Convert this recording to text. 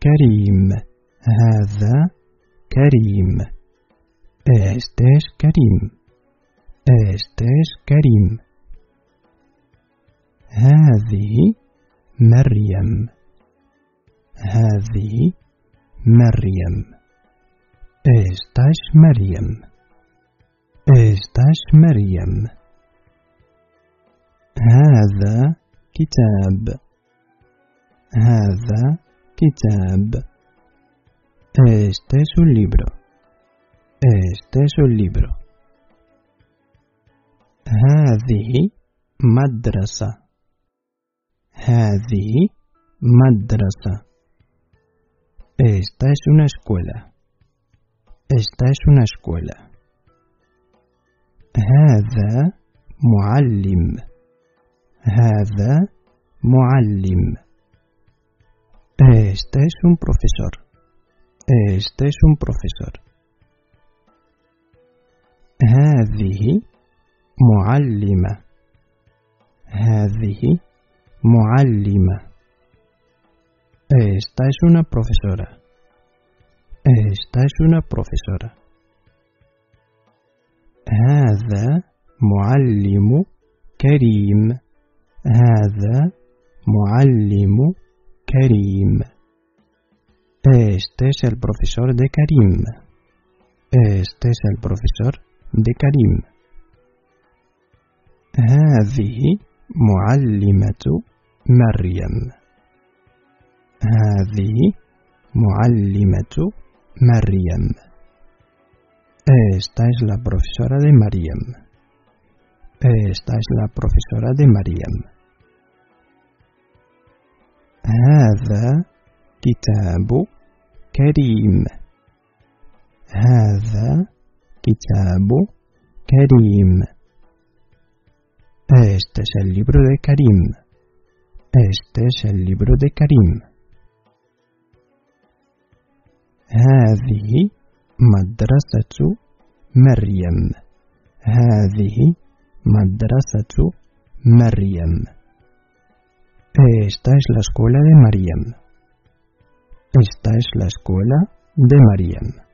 كريم. هذا كريم. Este es كريم. Este es كريم. هذه مريم. هذه مريم. Esta es مريم. Esta es مريم. هذا كتاب. هذا كتاب. Este es un libro. Este es un libro. هذه مدرسة. هذه مدرسة. Esta es una escuela. Esta es una escuela. هذا معلم. هذا معلم. Este es un profesor. Este es un profesor. هذه معلمة. هذه معلمة. Esta es una profesora. Esta es una profesora. هذا معلم كريم. هذا معلم كريم. Este es el profesor de Karim. Este es el profesor de Karim. هذه معلمة مريم. هذه معلمة مريم. Esta es la profesora de Mariam. Esta es la profesora de Mariam. هذا كتاب كريم. هذا كتاب كريم. Este es el libro de Karim. Este es el libro de Karim. هذه مدرسة مريم. هذه مدرسة مريم. Esta es la escuela de Mariam. Esta es la escuela de Mariam.